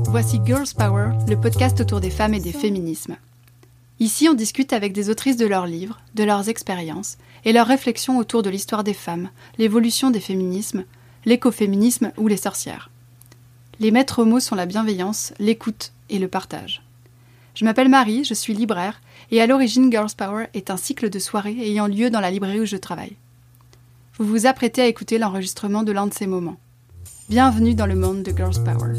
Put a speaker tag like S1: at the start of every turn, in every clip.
S1: Voici Girls Power, le podcast autour des femmes et des féminismes. Ici, on discute avec des autrices de leurs livres, de leurs expériences et leurs réflexions autour de l'histoire des femmes, l'évolution des féminismes, l'écoféminisme ou les sorcières. Les maîtres mots sont la bienveillance, l'écoute et le partage. Je m'appelle Marie, je suis libraire et à l'origine Girls Power est un cycle de soirées ayant lieu dans la librairie où je travaille. Vous vous apprêtez à écouter l'enregistrement de l'un de ces moments. Bienvenue dans le monde de Girls Power.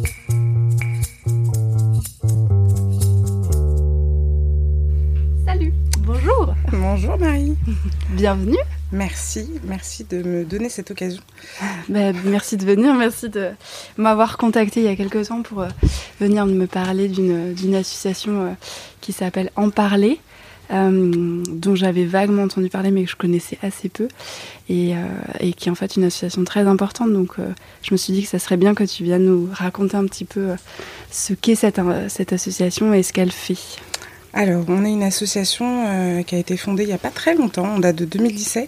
S1: Salut, bonjour.
S2: Bonjour Marie.
S1: Bienvenue.
S2: Merci de me donner cette occasion.
S1: Merci de venir, merci de m'avoir contactée il y a quelques temps pour venir me parler d'une association qui s'appelle En Parler, dont j'avais vaguement entendu parler mais que je connaissais assez peu et qui est en fait une association très importante. Donc je me suis dit que ça serait bien que tu viennes nous raconter un petit peu ce qu'est cette association et ce qu'elle fait.
S2: Alors, on est une association qui a été fondée il n'y a pas très longtemps, on date de 2017,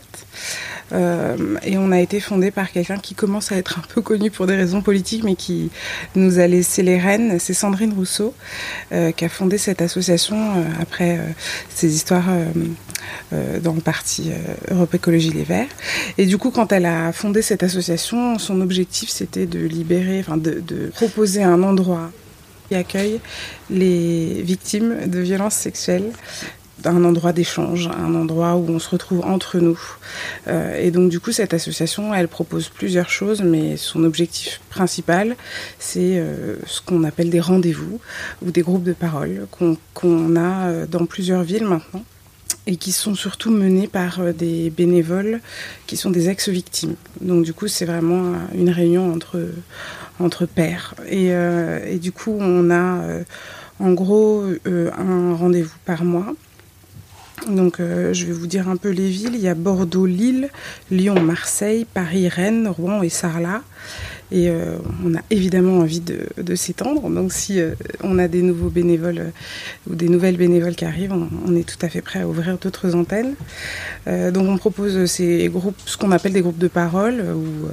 S2: et on a été fondé par quelqu'un qui commence à être un peu connu pour des raisons politiques, mais qui nous a laissé les rênes. C'est Sandrine Rousseau qui a fondé cette association après ses histoires dans le parti Europe Écologie Les Verts. Et du coup, quand elle a fondé cette association, son objectif c'était de libérer, de proposer un endroit qui accueille les victimes de violences sexuelles, un endroit d'échange, un endroit où on se retrouve entre nous. Et donc du coup, cette association, elle propose plusieurs choses, mais son objectif principal, c'est ce qu'on appelle des rendez-vous ou des groupes de parole qu'on a dans plusieurs villes maintenant, et qui sont surtout menés par des bénévoles qui sont des ex-victimes. Donc du coup, c'est vraiment une réunion entre pairs. Et du coup, on a en gros un rendez-vous par mois. Donc je vais vous dire un peu les villes. Il y a Bordeaux, Lille, Lyon, Marseille, Paris, Rennes, Rouen et Sarlat. Et on a évidemment envie de s'étendre. Donc si on a des nouveaux bénévoles ou des nouvelles bénévoles qui arrivent, on est tout à fait prêt à ouvrir d'autres antennes. Donc on propose ces groupes, ce qu'on appelle des groupes de parole, où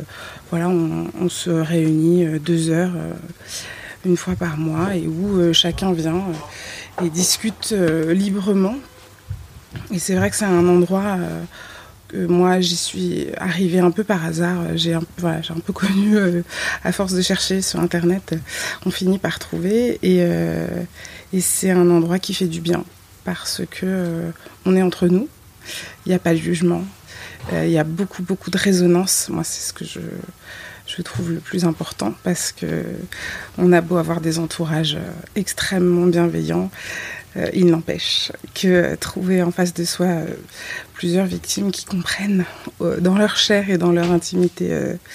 S2: on se réunit 2 heures une fois par mois et où chacun vient et discute librement. Et c'est vrai que c'est un endroit... moi, j'y suis arrivée un peu par hasard. J'ai un peu connu, à force de chercher sur Internet, on finit par trouver. Et c'est un endroit qui fait du bien parce que on est entre nous. Il n'y a pas de jugement. Il y a beaucoup de résonance. Moi, c'est ce que je trouve le plus important parce que on a beau avoir des entourages extrêmement bienveillants. Il n'empêche que trouver en face de soi plusieurs victimes qui comprennent dans leur chair et dans leur intimité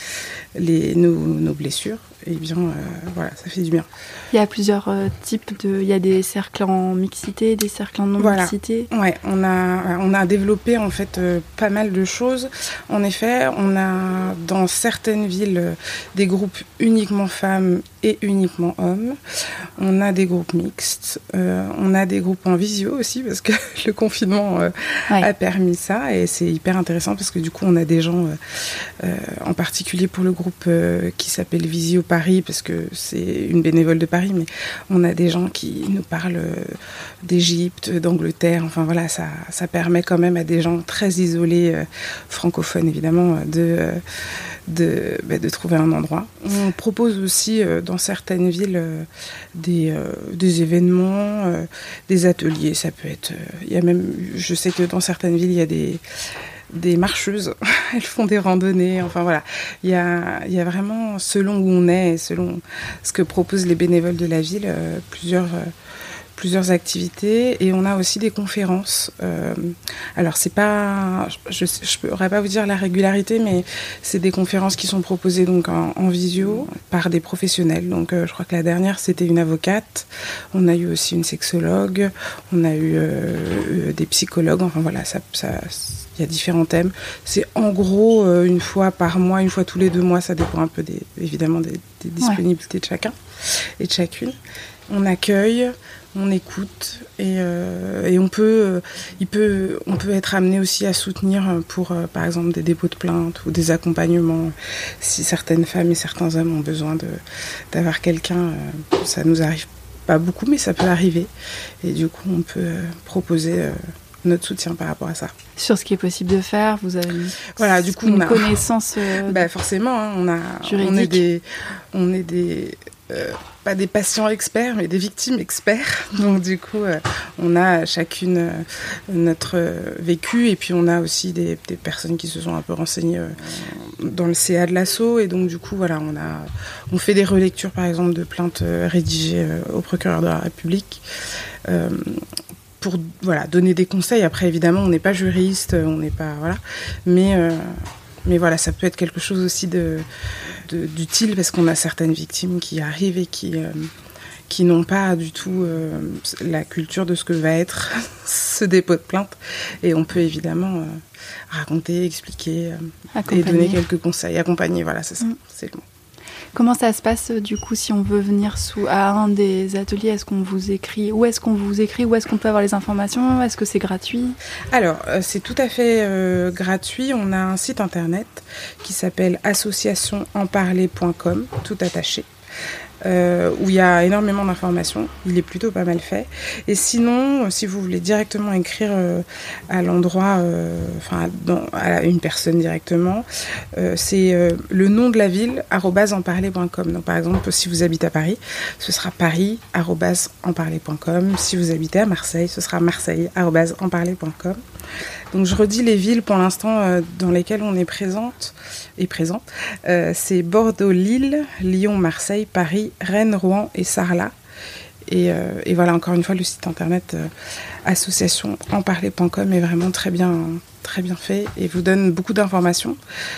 S2: nos blessures, et bien ça fait du bien.
S1: Il y a plusieurs types il y a des cercles en mixité, des cercles en non-mixité.
S2: Ouais, on a développé en fait pas mal de choses. En effet, on a dans certaines villes des groupes uniquement femmes et uniquement hommes. On a des groupes mixtes. On a des groupes en visio aussi parce que le confinement a permis ça, et c'est hyper intéressant parce que du coup on a des gens en particulier pour le groupe qui s'appelle Visio Paris, parce que c'est une bénévole de Paris, mais on a des gens qui nous parlent d'Égypte, d'Angleterre, enfin voilà, ça permet quand même à des gens très isolés, francophones évidemment, de trouver un endroit. On propose aussi dans certaines villes des événements, des ateliers, ça peut être... je sais que dans certaines villes, il y a des marcheuses, elles font des randonnées, enfin voilà. Il y a vraiment, selon où on est et selon ce que proposent les bénévoles de la ville, plusieurs activités, et on a aussi des conférences. Alors c'est pas, je pourrais pas vous dire la régularité, mais c'est des conférences qui sont proposées donc en visio par des professionnels. Donc je crois que la dernière c'était une avocate, on a eu aussi une sexologue, on a eu des psychologues, enfin voilà, ça il y a différents thèmes. C'est en gros une fois par mois, une fois tous les 2 mois, ça dépend un peu évidemment des disponibilités de chacun et de chacune. on accueille, on écoute et on peut être amené aussi à soutenir pour, par exemple, des dépôts de plainte ou des accompagnements. Si certaines femmes et certains hommes ont besoin d'avoir quelqu'un, ça nous arrive pas beaucoup, mais ça peut arriver. Et du coup, on peut proposer notre soutien par rapport à ça.
S1: Sur ce qui est possible de faire, vous avez
S2: du coup,
S1: une connaissance
S2: forcément, hein,
S1: juridique.
S2: on est des pas des patients experts, mais des victimes experts. Donc du coup, on a chacune notre vécu, et puis on a aussi des personnes qui se sont un peu renseignées dans le CA de l'ASSO, et donc du coup, voilà, on fait des relectures, par exemple, de plaintes rédigées au procureur de la République. Pour donner des conseils. Après, évidemment, on n'est pas juriste, on n'est pas mais voilà, ça peut être quelque chose aussi d'utile, parce qu'on a certaines victimes qui arrivent et qui n'ont pas du tout la culture de ce que va être ce dépôt de plainte, et on peut évidemment raconter, expliquer et donner quelques conseils, accompagner, voilà, c'est ça, c'est le mot.
S1: Comment ça se passe du coup si on veut venir à un des ateliers? Est-ce qu'on vous écrit? Où est-ce qu'on vous écrit? Où est-ce qu'on peut avoir les informations? Est-ce que c'est gratuit?
S2: Alors, c'est tout à fait gratuit. On a un site internet qui s'appelle associationenparler.com, tout attaché. Où il y a énormément d'informations. Il est plutôt pas mal fait. Et sinon, si vous voulez directement écrire à l'endroit, à une personne directement, c'est le nom de la ville, @enparler.com. Donc par exemple, si vous habitez à Paris, ce sera paris@enparler.com. Si vous habitez à Marseille, ce sera marseille@enparler.com. Donc je redis les villes pour l'instant dans lesquelles on est présent. C'est Bordeaux, Lille, Lyon, Marseille, Paris, Rennes, Rouen et Sarlat. Et voilà, encore une fois, le site internet associationenparler.com est vraiment très bien fait et vous donne beaucoup d'informations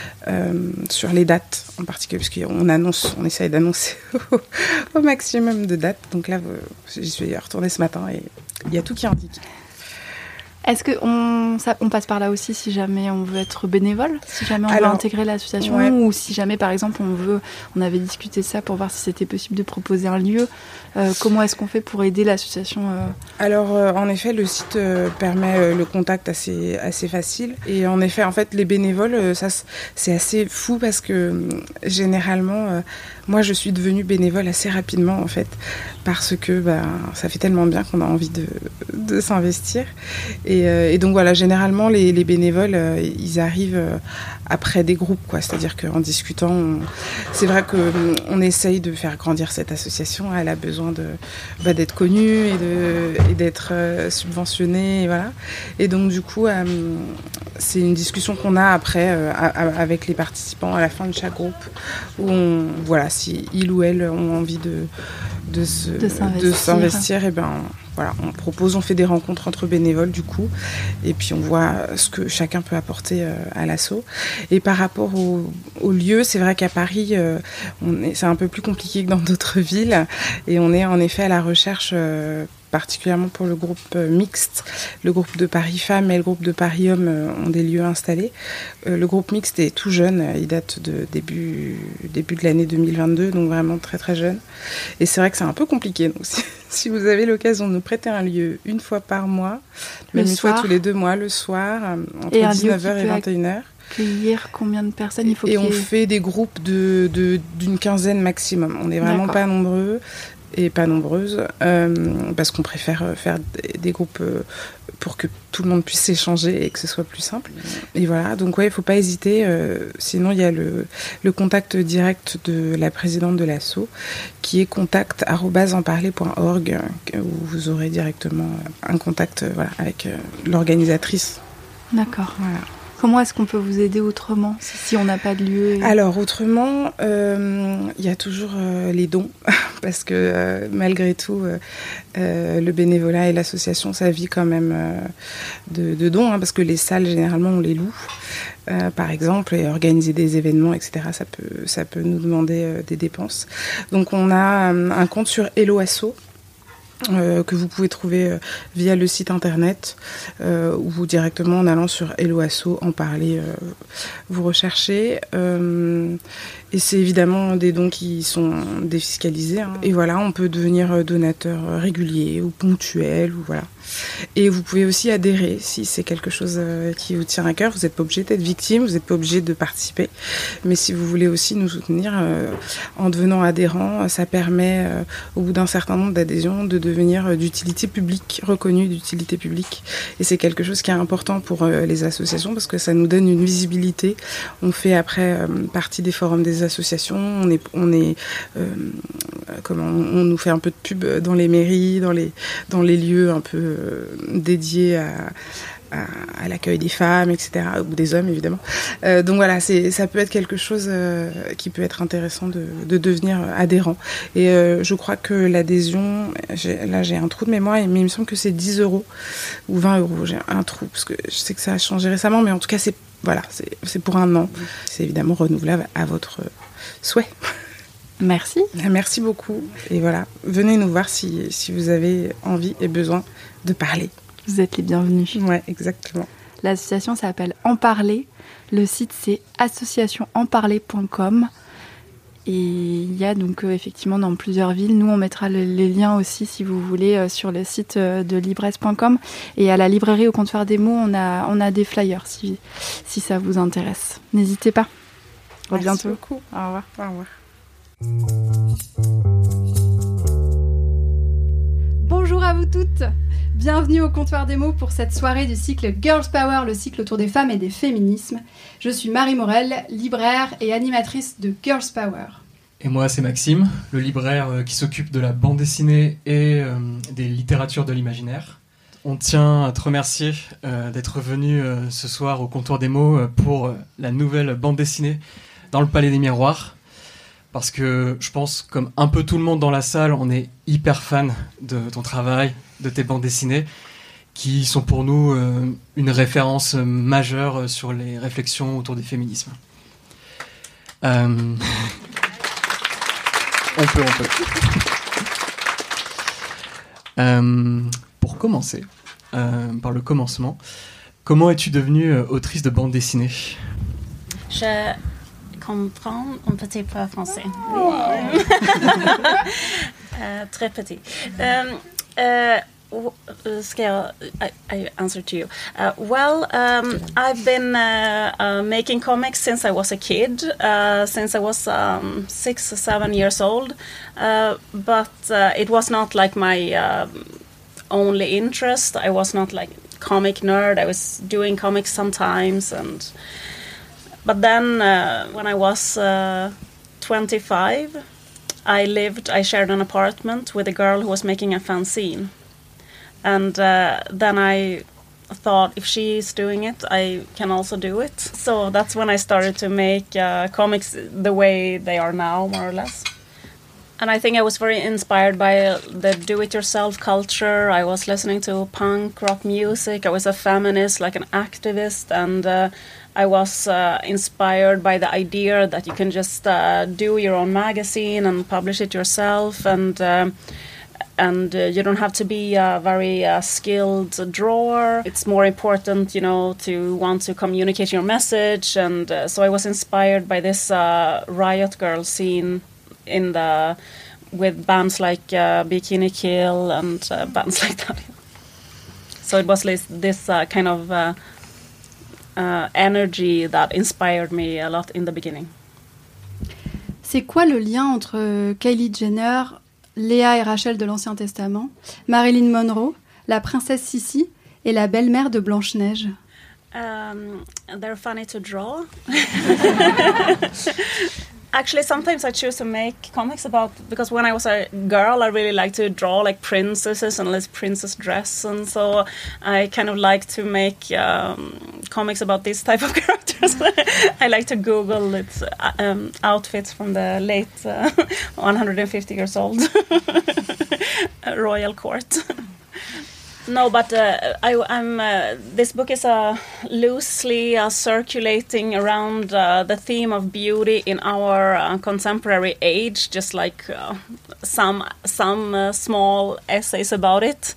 S2: sur les dates en particulier, parce on essaye d'annoncer au maximum de dates. Donc là, j'y suis retournée ce matin et il y a tout qui est indiqué.
S1: Est-ce qu'on passe par là aussi si jamais on veut être bénévole, si jamais on veut intégrer l'association, ou si jamais par exemple on avait discuté de ça pour voir si c'était possible de proposer un lieu, comment est-ce qu'on fait pour aider l'association
S2: Alors en effet, le site permet le contact assez facile, et en effet, en fait, les bénévoles, ça c'est assez fou, parce que généralement moi je suis devenue bénévole assez rapidement, en fait, parce que ça fait tellement bien qu'on a envie de s'investir. Et donc voilà, généralement les bénévoles, ils arrivent après des groupes, quoi. C'est-à-dire qu'en discutant, c'est vrai qu'on essaye de faire grandir cette association. Elle a besoin d'être connue et d'être subventionnée, et voilà. Et donc du coup, c'est une discussion qu'on a après avec les participants à la fin de chaque groupe, où si ils ou elles ont envie de s'investir, et voilà, on fait des rencontres entre bénévoles du coup, et puis on voit ce que chacun peut apporter à l'asso. Et par rapport au lieu, c'est vrai qu'à Paris, c'est un peu plus compliqué que dans d'autres villes, et on est en effet à la recherche, particulièrement pour le groupe mixte. Le groupe de Paris Femmes et le groupe de Paris Hommes ont des lieux installés. Le groupe mixte est tout jeune, il date de début de l'année 2022, donc vraiment très très jeune. Et c'est vrai que c'est un peu compliqué, donc si vous avez l'occasion de nous prêter un lieu une fois par mois, même une fois tous les 2 mois, le soir, entre 19h et 21h.
S1: Accueillir combien de personnes il faut
S2: on fait des groupes d'une quinzaine maximum. On n'est vraiment pas nombreux et pas nombreuses, parce qu'on préfère faire des groupes pour que tout le monde puisse s'échanger et que ce soit plus simple. Et voilà, donc il ne faut pas hésiter. Sinon, il y a le contact direct de la présidente de l'asso, qui est contact@enparler.org, où vous aurez directement un contact avec l'organisatrice.
S1: D'accord. Voilà. Comment est-ce qu'on peut vous aider autrement si on n'a pas de lieu
S2: Alors autrement, il y a toujours les dons, parce que malgré tout, le bénévolat et l'association, ça vit quand même de dons, parce que les salles, généralement, on les loue, par exemple, et organiser des événements, etc., ça peut nous demander des dépenses. Donc on a un compte sur Hello Asso, que vous pouvez trouver via le site internet ou directement en allant sur Hello Asso, en parler, vous recherchez. Et c'est évidemment des dons qui sont défiscalisés. Hein. Et voilà, on peut devenir donateur régulier ou ponctuel. Ou voilà. Et vous pouvez aussi adhérer si c'est quelque chose qui vous tient à cœur. Vous n'êtes pas obligé d'être victime, vous n'êtes pas obligé de participer. Mais si vous voulez aussi nous soutenir en devenant adhérent, ça permet au bout d'un certain nombre d'adhésions de devenir d'utilité publique, reconnu d'utilité publique. Et c'est quelque chose qui est important pour les associations parce que ça nous donne une visibilité. On fait après partie des forums des associations, on nous fait un peu de pub dans les mairies, dans les lieux un peu dédiés à l'accueil des femmes, etc., ou des hommes évidemment. Donc voilà, ça peut être quelque chose qui peut être intéressant de devenir adhérent. Et je crois que l'adhésion, j'ai un trou de mémoire, mais il me semble que c'est 10 € ou 20 €. J'ai un trou, parce que je sais que ça a changé récemment, mais en tout cas c'est pour un an. C'est évidemment renouvelable à votre souhait.
S1: Merci.
S2: Merci beaucoup. Et voilà, venez nous voir si vous avez envie et besoin de parler.
S1: Vous êtes les bienvenus.
S2: Ouais, exactement.
S1: L'association s'appelle En Parler. Le site, c'est associationenparler.com. Et il y a donc effectivement dans plusieurs villes. Nous, on mettra les liens aussi, si vous voulez, sur le site de libresse.com. Et à la librairie au comptoir des mots, on a des flyers si ça vous intéresse. N'hésitez pas. À bientôt.
S2: Merci beaucoup.
S1: Au revoir.
S2: Au revoir.
S1: Bonjour à vous toutes. Bienvenue au comptoir des mots pour cette soirée du cycle Girls Power, le cycle autour des femmes et des féminismes. Je suis Marie Morel, libraire et animatrice de Girls Power.
S3: Et moi, c'est Maxime, le libraire qui s'occupe de la bande dessinée et des littératures de l'imaginaire. On tient à te remercier d'être venu ce soir au comptoir des mots pour la nouvelle bande dessinée dans le Palais des Miroirs. Parce que je pense, comme un peu tout le monde dans la salle, on est hyper fan de ton travail, de tes bandes dessinées, qui sont pour nous une référence majeure sur les réflexions autour des féminismes. On peut. Pour commencer, par le commencement, comment es-tu devenue autrice de bande dessinée ?
S4: Je comprends un petit peu français. Très petit. I answer to you. I've been making comics since I was a kid, since I was 6 or 7 years old, but it was not like my only interest. I was not like comic nerd. I was doing comics sometimes, but then when I was 25, I shared an apartment with a girl who was making a fanzine. And then I thought, if she's doing it, I can also do it. So that's when I started to make comics the way they are now, more or less. And I think I was very inspired by the do-it-yourself culture. I was listening to punk rock music. I was a feminist, like an activist, and I was inspired by the idea that you can just do your own magazine and publish it yourself, and you don't have to be a very skilled drawer. It's more important, to want to communicate your message. And so I was inspired by this riot girl scene with bands like Bikini Kill and bands like that. So it was this kind of energy that inspired me a lot in the beginning.
S1: C'est quoi le lien entre Kylie Jenner, Léa et Rachel de l'Ancien Testament, Marilyn Monroe, la princesse Sissi et la belle-mère de Blanche-Neige?
S4: They're funny to draw. Actually, sometimes I choose to make comics because when I was a girl, I really liked to draw like princesses and like princess dress, and so I kind of like to make comics about this type of characters. I like to Google its outfits from the late 150 years old royal court. No, but this book is loosely circulating around the theme of beauty in our contemporary age, just like some small essays about it.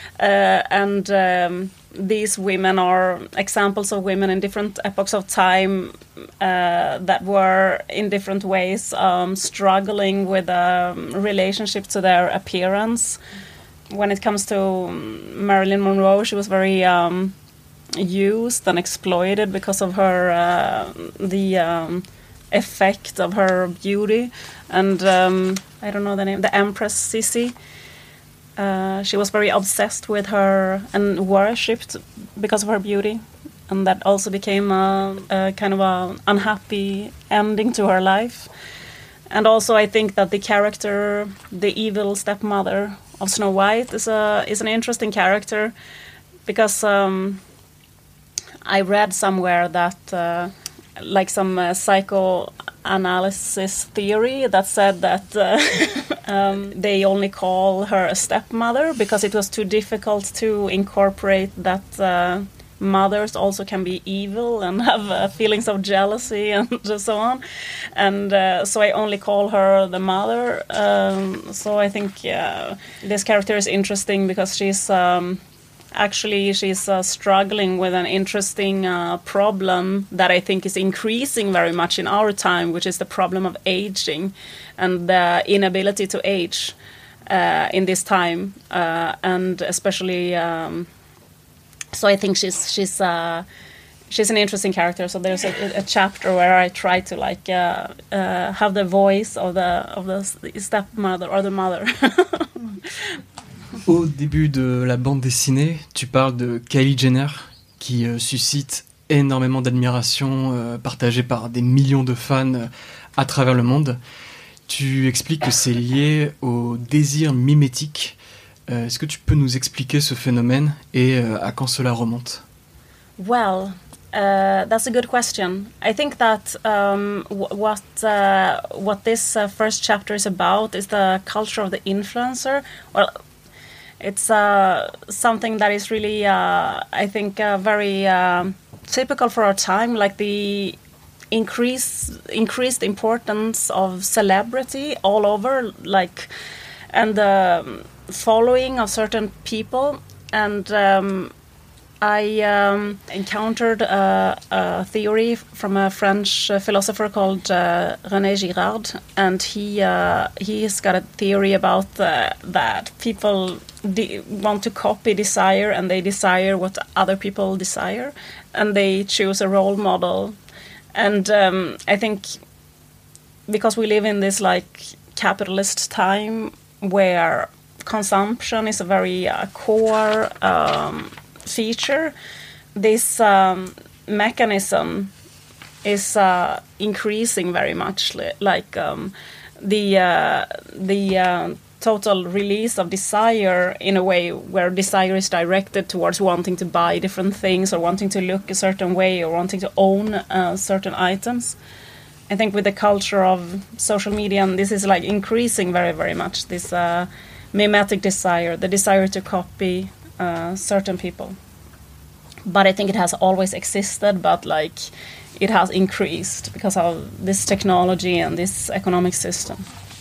S4: And these women are examples of women in different epochs of time that were in different ways struggling with relationship to their appearance. When it comes to Marilyn Monroe, she was very used and exploited because of her the effect of her beauty. And I don't know the name, the Empress Sissi. She was very obsessed with her and worshipped because of her beauty, and that also became a kind of an unhappy ending to her life. And also, I think that the character, the evil stepmother of Snow White, is an interesting character, because I read somewhere that like some psychoanalysis theory that said that they only call her a stepmother because it was too difficult to incorporate that mothers also can be evil and have feelings of jealousy and so on. And so I only call her the mother. So I think this character is interesting because she's struggling with an interesting problem that I think is increasing very much in our time, which is the problem of aging and the inability to age in this time, and especially. So I think she's an interesting character. So there's a chapter where I try to have the voice of the stepmother or the mother.
S3: Au début de la bande dessinée, tu parles de Kylie Jenner, qui suscite énormément d'admiration, partagée par des millions de fans à travers le monde. Tu expliques que c'est lié au désir mimétique. Est-ce que tu peux nous expliquer ce phénomène et à quand cela remonte?
S4: Well, that's a good question. I think that what this first chapter is about is the culture of the influencer. Well, it's something that is really, I think, very typical for our time, like the increased importance of celebrity all over, and the following of certain people. And I encountered a theory from a French philosopher called René Girard, and he's got a theory about that people want to copy desire, and they desire what other people desire, and they choose a role model. And I think because we live in this capitalist time where consumption is a very core feature, this mechanism is increasing very much, the total release of desire, in a way where desire is directed towards wanting to buy different things or wanting to look a certain way or wanting to own certain items. I think with the culture of social media, and this is increasing very, very much, this mimetic desire, the desire to copy certain people. But I think it has always existed, but it has increased because of this technology and this economic system.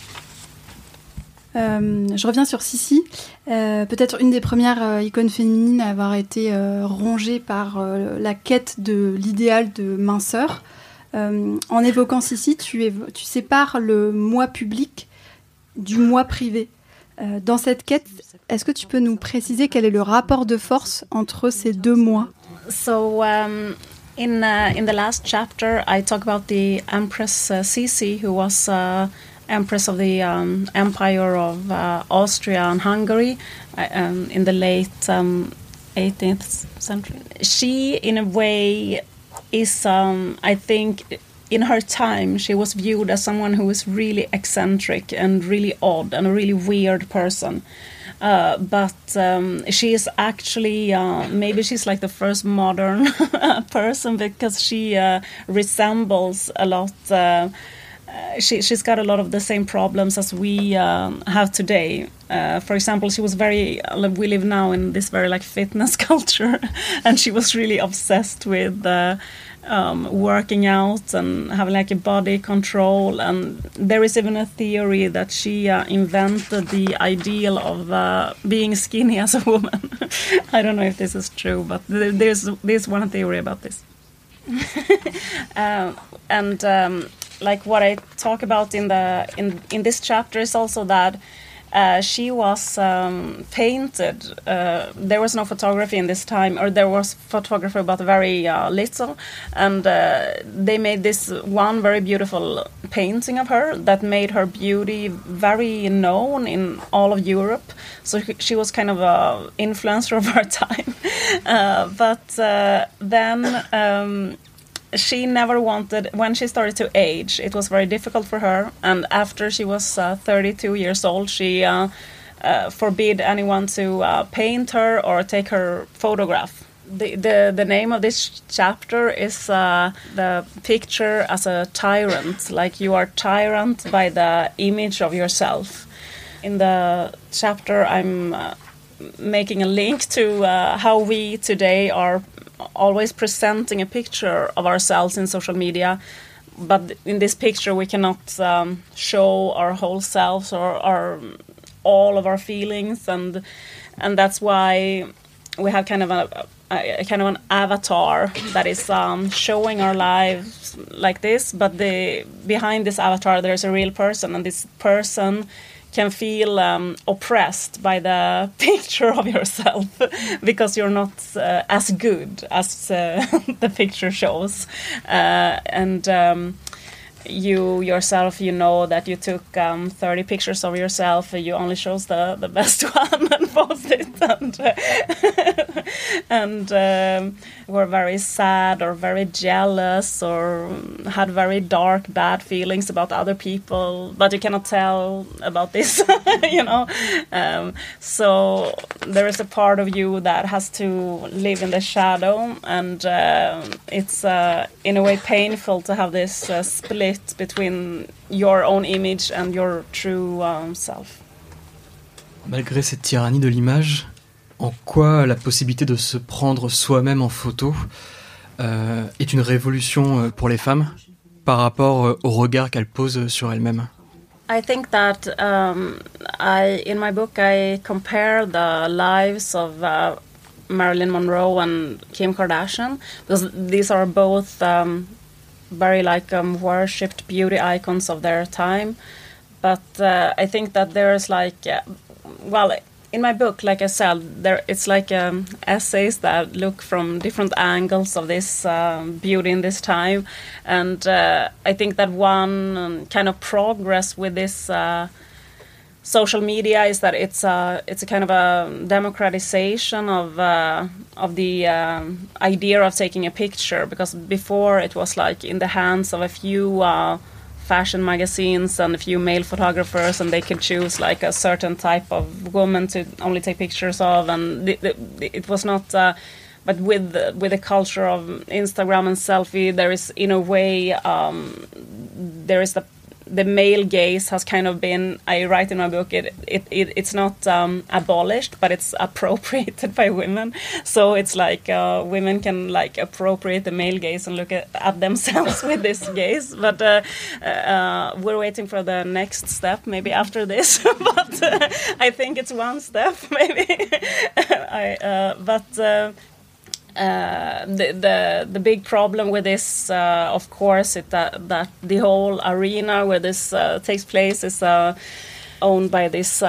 S1: Je reviens sur Sissi, peut-être une des premières icônes féminines à avoir été rongée par la quête de l'idéal de minceur. En évoquant Sissi, tu sépares le moi public du moi privé. Dans cette quête, est-ce que tu peux nous préciser quel est le rapport de force entre ces deux moi?
S4: So in the last chapter, I talk about the Empress Sissi, who was Empress of the Empire of Austria and Hungary in the late 18th century. She, in a way, is, I think, in her time, she was viewed as someone who was really eccentric and really odd and a really weird person. But she is actually, maybe she's the first modern person, because she resembles a lot she's got a lot of the same problems as we have today. For example, she was we live now in this very like fitness culture, and she was really obsessed with working out and having like a body control. And there is even a theory that she invented the ideal of being skinny as a woman. I don't know if this is true, but there's one theory about this. Like what I talk about in this chapter is also that she was painted. There was no photography in this time, or there was photography but very little, and they made this one very beautiful painting of her that made her beauty very known in all of Europe. So she was kind of an influencer of her time. Then she never wanted, when she started to age, it was very difficult for her, and after she was 32 years old, she forbid anyone to paint her or take her photograph. The name of this chapter is the picture as a tyrant, like you are tyrant by the image of yourself. In the chapter I'm making a link to how we today are always presenting a picture of ourselves in social media, but in this picture we cannot show our whole selves or all of our feelings, and that's why we have kind of an avatar that is showing our lives like this, but behind this avatar there's a real person, and this person can feel oppressed by the picture of yourself because you're not as good as the picture shows. You yourself, you know that you took 30 pictures of yourself, you only chose the best one and posted it, and were very sad or very jealous or had very dark, bad feelings about other people, but you cannot tell about this, you know. So there is a part of you that has to live in the shadow, and it's in a way painful to have this split between your own image and your true self.
S3: Malgré cette tyrannie de l'image, en quoi la possibilité de se prendre soi-même en photo est une révolution pour les femmes par rapport au regard qu'elles posent sur elles-mêmes?
S4: I think that in my book I compare the lives of Marilyn Monroe and Kim Kardashian, because these are both very worshipped beauty icons of their time, but I think that there's in my book, like I said, it's like essays that look from different angles of this beauty in this time, and I think that one kind of progress with this social media is that it's a kind of a democratization of the idea of taking a picture, because before it was like in the hands of a few fashion magazines and a few male photographers, and they could choose like a certain type of woman to only take pictures of, and it was not but with the culture of Instagram and selfie, there is in a way there is the male gaze has kind of been, I write in my book, it's not abolished, but it's appropriated by women. So it's like women can like appropriate the male gaze and look at themselves with this gaze. But we're waiting for the next step, maybe after this. But I think it's one step, maybe. The big problem with this, of course, is that the whole arena where this takes place is owned by this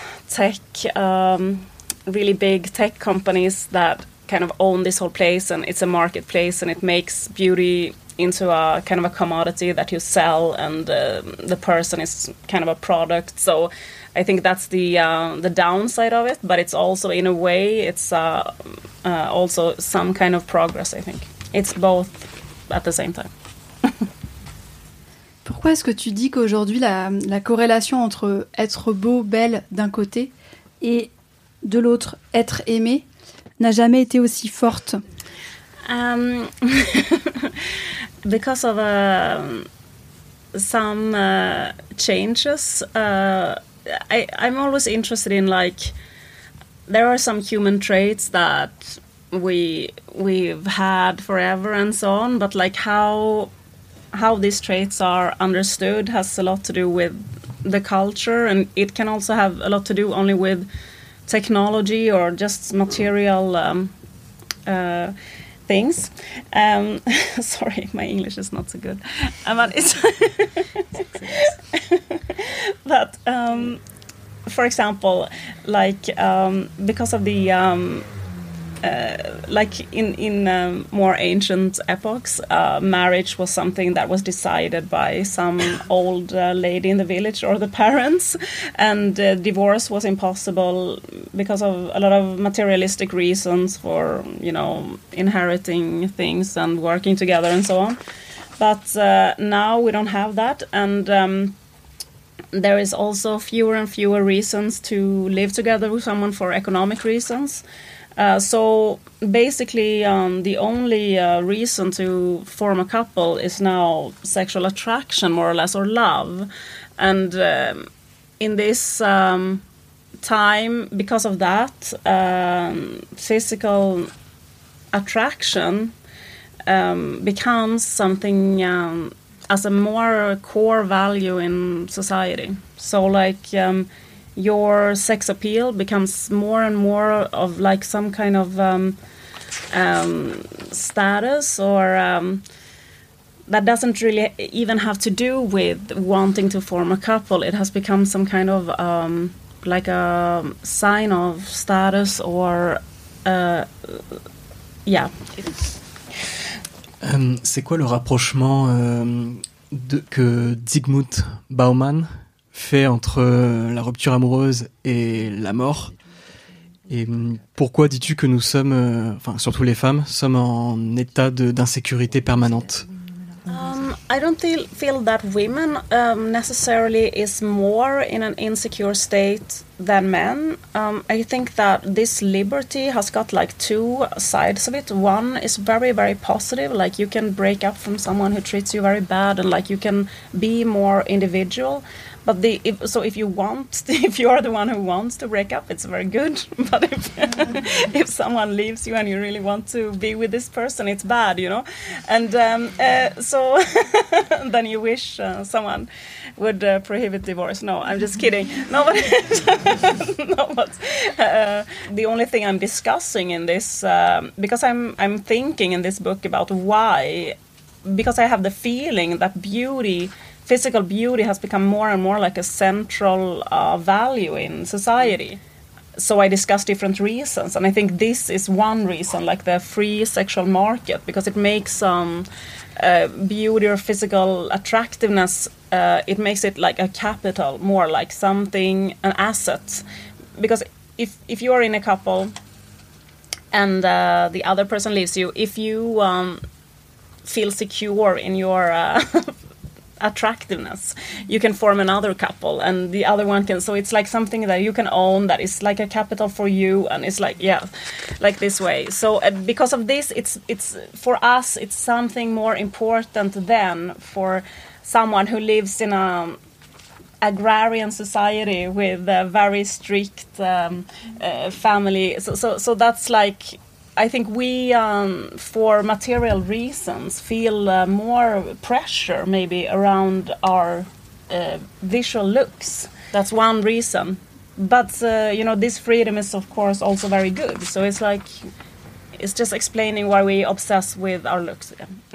S4: really big tech companies that kind of own this whole place, and it's a marketplace, and it makes beauty into a kind of a commodity that you sell, and the person is kind of a product. So I think that's the downside of it, but it's also, in a way, it's also some kind of progress, I think. It's both at the same time.
S1: Pourquoi est-ce que tu dis qu'aujourd'hui, la corrélation entre être beau, belle d'un côté, et de l'autre, être aimé, n'a jamais été aussi forte?
S4: Because of some changes. I'm always interested in, like, there are some human traits that we've had forever and so on, but like how these traits are understood has a lot to do with the culture, and it can also have a lot to do only with technology or just material things. Sorry, my English is not so good, but it's but for example, like because of the like in more ancient epochs, marriage was something that was decided by some old lady in the village or the parents, and divorce was impossible because of a lot of materialistic reasons for, you know, inheriting things and working together and so on. But now we don't have that, and there is also fewer and fewer reasons to live together with someone for economic reasons. So basically, the only reason to form a couple is now sexual attraction, more or less, or love. And in this time, because of that, physical attraction becomes something as a more core value in society. So, like, your sex appeal becomes more and more of like some kind of status, or that doesn't really even have to do with wanting to form a couple. It has become some kind of like a sign of status, or yeah.
S3: C'est quoi le rapprochement que Zygmunt Bauman fait entre la rupture amoureuse et la mort? Et pourquoi dis-tu que nous sommes, enfin surtout les femmes, sommes en état d'insécurité permanente?
S4: I don't feel that women necessarily is more in an insecure state than men. I think that this liberty has got like two sides of it. One is very, very positive, like you can break up from someone who treats you very bad, and like you can be more individual. But if you want, if you are the one who wants to break up, it's very good. But if someone leaves you and you really want to be with this person, it's bad, you know. And so then you wish someone would prohibit divorce. No, I'm just kidding. No, but the only thing I'm discussing in this, because I'm thinking in this book about why, because I have the feeling that physical beauty has become more and more like a central value in society. So I discuss different reasons, and I think this is one reason, like the free sexual market, because it makes beauty or physical attractiveness, it makes it like a capital, more like something, an asset. Because if you are in a couple and the other person leaves you, if you feel secure in your attractiveness, you can form another couple, and the other one can, so it's like something that you can own, that is like a capital for you, and it's like, yeah, like this way. So because of this, it's for us, it's something more important than for someone who lives in a agrarian society with a very strict family. So that's like, I think we, for material reasons, feel more pressure maybe around our visual looks. That's one reason. But, this freedom is, of course, also very good. So it's like, it's just explaining why we obsess with our looks.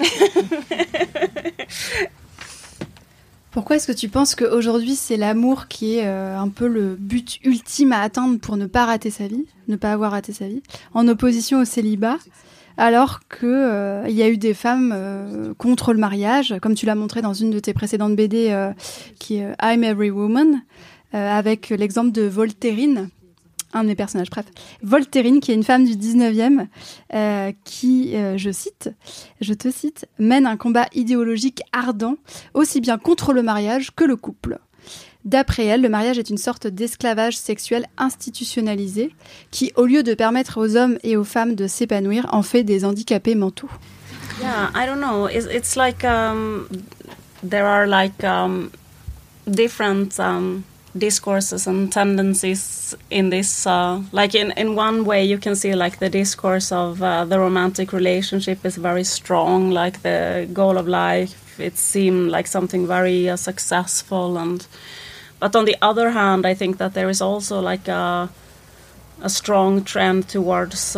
S1: Pourquoi est-ce que tu penses qu'aujourd'hui, c'est l'amour qui est un peu le but ultime à atteindre pour ne pas rater sa vie, ne pas avoir raté sa vie, en opposition au célibat, alors qu'il y a eu des femmes contre le mariage, comme tu l'as montré dans une de tes précédentes BD, qui est I'm Every Woman, avec l'exemple de Voltairine, un de mes personnages, bref. Voltairine, qui est une femme du 19e, qui, je te cite, mène un combat idéologique ardent, aussi bien contre le mariage que le couple. D'après elle, le mariage est une sorte d'esclavage sexuel institutionnalisé qui, au lieu de permettre aux hommes et aux femmes de s'épanouir, en fait des handicapés mentaux.
S4: Yeah, I don't know. It's like there are like different discourses and tendencies in this. Like in one way, you can see like the discourse of the romantic relationship is very strong, like the goal of life. It seemed like something very successful, but on the other hand, I think that there is also like a strong trend towards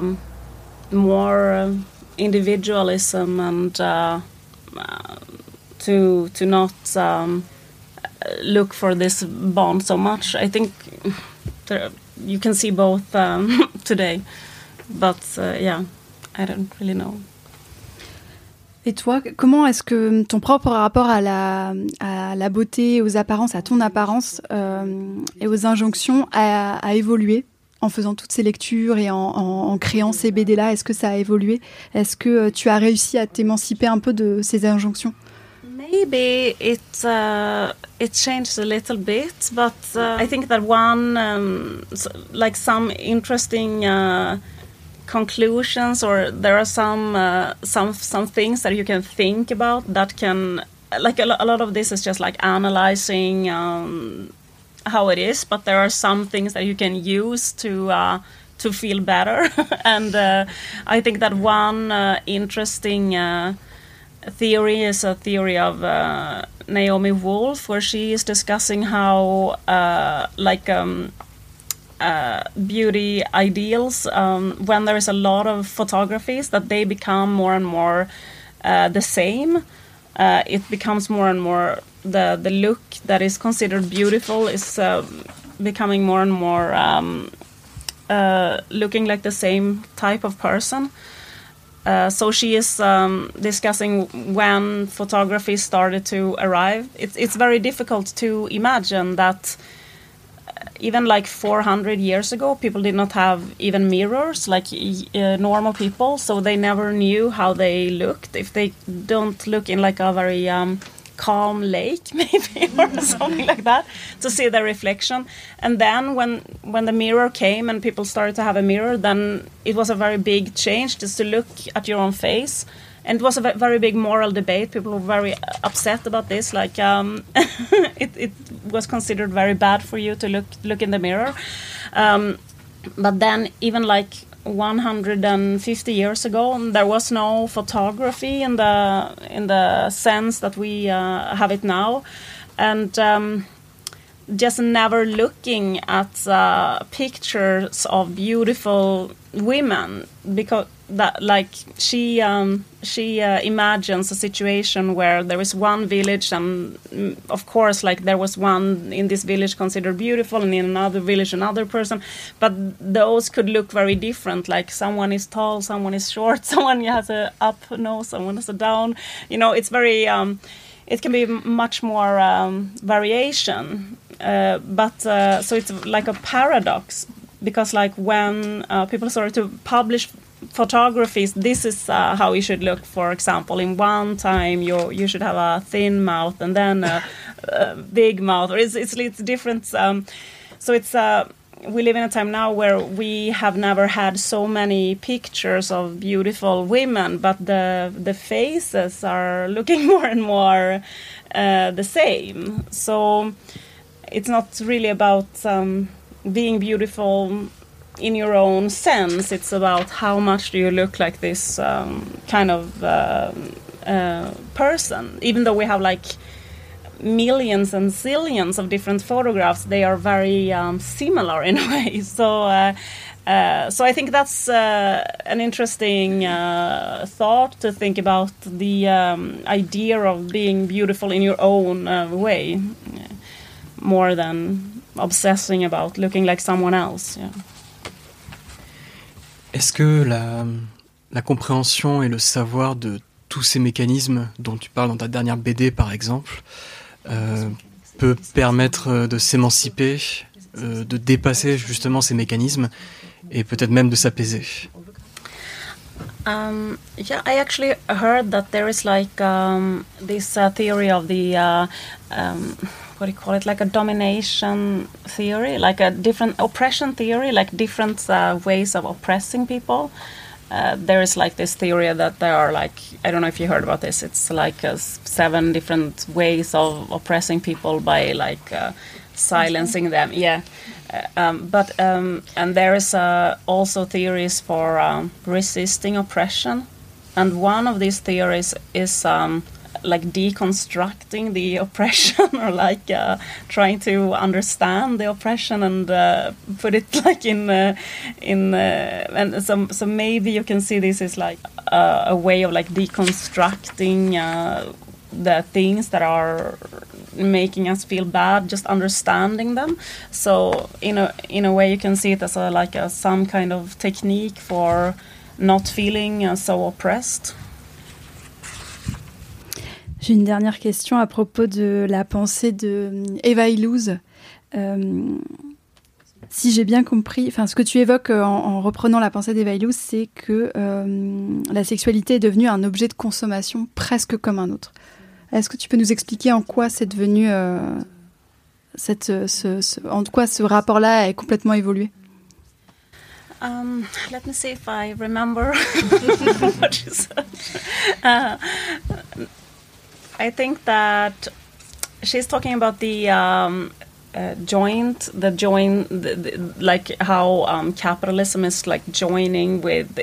S4: more individualism and to not look for this bond so much. I think you can see both today, but yeah, I don't really know.
S1: Et toi, comment est-ce que ton propre rapport à la beauté, aux apparences, à ton apparence et aux injonctions a évolué en faisant toutes ces lectures et en créant ces BD-là? Est-ce que ça a évolué? Est-ce que tu as réussi à t'émanciper un peu de ces injonctions?
S4: Maybe it changed a little bit, but I think that one like some interesting conclusions, or there are some things that you can think about that can, like a lot of this is just like analyzing how it is, but there are some things that you can use to feel better. And I think that one interesting theory is a theory of Naomi Wolf, where she is discussing how beauty ideals, when there is a lot of photographies, that they become more and more the same. It becomes more and more the look that is considered beautiful is becoming more and more looking like the same type of person. So she is discussing when photography started to arrive. It's very difficult to imagine that even like 400 years ago, people did not have even mirrors like normal people, so they never knew how they looked. If they don't look in like a very calm lake maybe or something like that to see their reflection. And then when the mirror came and people started to have a mirror, then it was a very big change just to look at your own face. And it was a very big moral debate. People were very upset about this. Like it was considered very bad for you to look in the mirror. But then even like 150 years ago, there was no photography in the sense that we have it now, and just never looking at pictures of beautiful women, because that like she imagines a situation where there is one village, and of course like there was one in this village considered beautiful, and in another village another person, but those could look very different. Like someone is tall, someone is short, someone has a up nose, someone has a down. You know, it's very it can be much more variation, but so it's like a paradox, because like when people started to publish photographies, this is how you should look. For example, in one time you should have a thin mouth and then a big mouth, or it's different. So it's we live in a time now where we have never had so many pictures of beautiful women, but the faces are looking more and more the same. So it's not really about being beautiful in your own sense. It's about how much do you look like this kind of person. Even though we have like millions and zillions of different photographs, they are very similar in a way. So I think that's an interesting thought to think about, the idea of being beautiful in your own way, more than obsessing about looking like someone else. Yeah.
S3: Est-ce que la compréhension et le savoir de tous ces mécanismes dont tu parles dans ta dernière BD par exemple peut permettre de s'émanciper, de dépasser justement ces mécanismes et peut-être même de s'apaiser?
S4: Yeah, I actually heard that there is like this theory of the what do you call it, like a domination theory, like a different oppression theory, like different ways of oppressing people. there is like this theory that there are like, I don't know if you heard about this, it's like 7 different ways of oppressing people by like silencing them. And there is also theories for resisting oppression, and one of these theories is like deconstructing the oppression, or like trying to understand the oppression and put it like and so maybe you can see this is like a way of like deconstructing the things that are making us feel bad, just understanding them. So in a way you can see it as some kind of technique for not feeling so oppressed.
S1: J'ai une dernière question à propos de la pensée de Eva Illouz. Si j'ai bien compris, ce que tu évoques en reprenant la pensée d'Eva Illouz, c'est que la sexualité est devenue un objet de consommation presque comme un autre. Est-ce que tu peux nous expliquer en quoi c'est devenu, en quoi ce rapport-là a complètement évolué?
S4: Let me see if I remember what you said. I think that she's talking about the like how capitalism is like joining with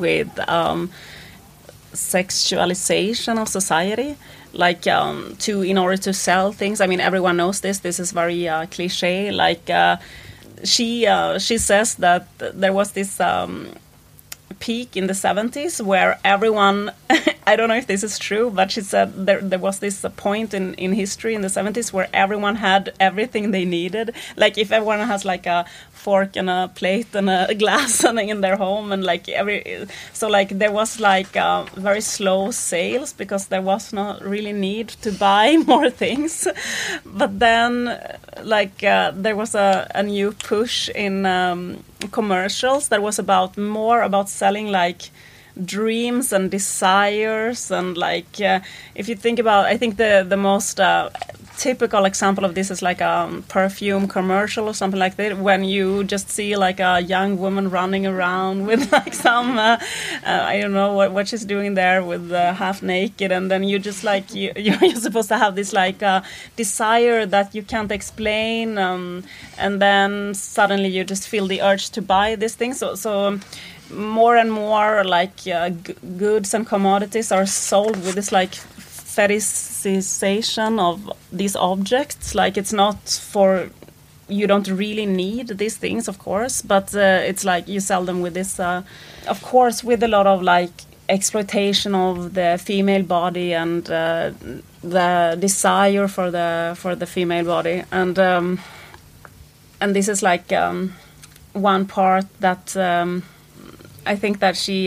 S4: sexualization of society, like in order to sell things. I mean, everyone knows this. This is very cliche. Like she says that there was this peak in the 70s where everyone I don't know if this is true, but she said there was this point in history in the 70s where everyone had everything they needed. Like if everyone has like a fork and a plate and a glass in their home, and like so like there was like very slow sales because there was not really need to buy more things. But then like there was a new push in commercials that was more about selling like dreams and desires, and like if you think about, I think the most typical example of this is like a perfume commercial or something like that, when you just see like a young woman running around with like some I don't know what she's doing there with half naked, and then you just like you're supposed to have this like desire that you can't explain, and then suddenly you just feel the urge to buy this thing. So more and more like goods and commodities are sold with this like fetishization of these objects. Like it's not for, you don't really need these things, of course, but it's like you sell them with this of course with a lot of like exploitation of the female body and the desire for the female body, and this is like one part that I think that she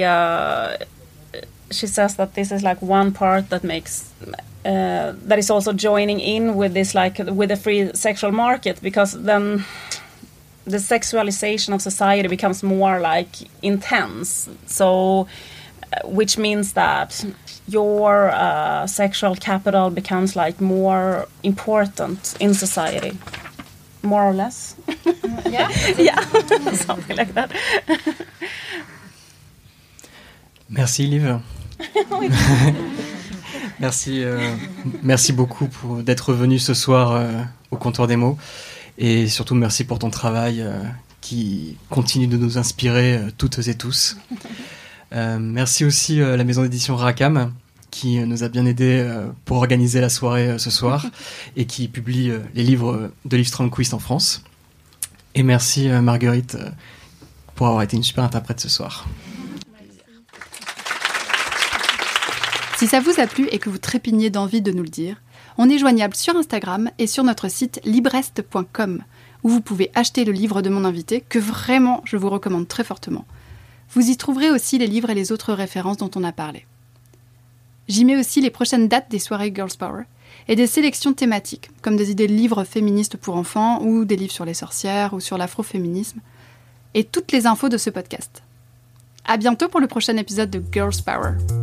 S4: says that this is like one part that makes that is also joining in with this, like with the free sexual market, because then the sexualization of society becomes more like intense. So which means that your sexual capital becomes like more important in society, more or less.
S1: Yeah.
S4: Yeah, something like that.
S3: Merci Liv. Merci beaucoup d'être venu ce soir au Comptoir des mots, et surtout merci pour ton travail qui continue de nous inspirer toutes et tous. Merci aussi à la maison d'édition Rackham qui nous a bien aidés pour organiser la soirée ce soir et qui publie les livres de Liv Strömquist en France. Et merci Marguerite pour avoir été une super interprète ce soir.
S1: Si ça vous a plu et que vous trépignez d'envie de nous le dire, on est joignable sur Instagram et sur notre site librest.com, où vous pouvez acheter le livre de mon invité, que vraiment je vous recommande très fortement. Vous y trouverez aussi les livres et les autres références dont on a parlé. J'y mets aussi les prochaines dates des soirées Girls Power et des sélections thématiques, comme des idées de livres féministes pour enfants ou des livres sur les sorcières ou sur l'afroféminisme, et toutes les infos de ce podcast. À bientôt pour le prochain épisode de Girls Power.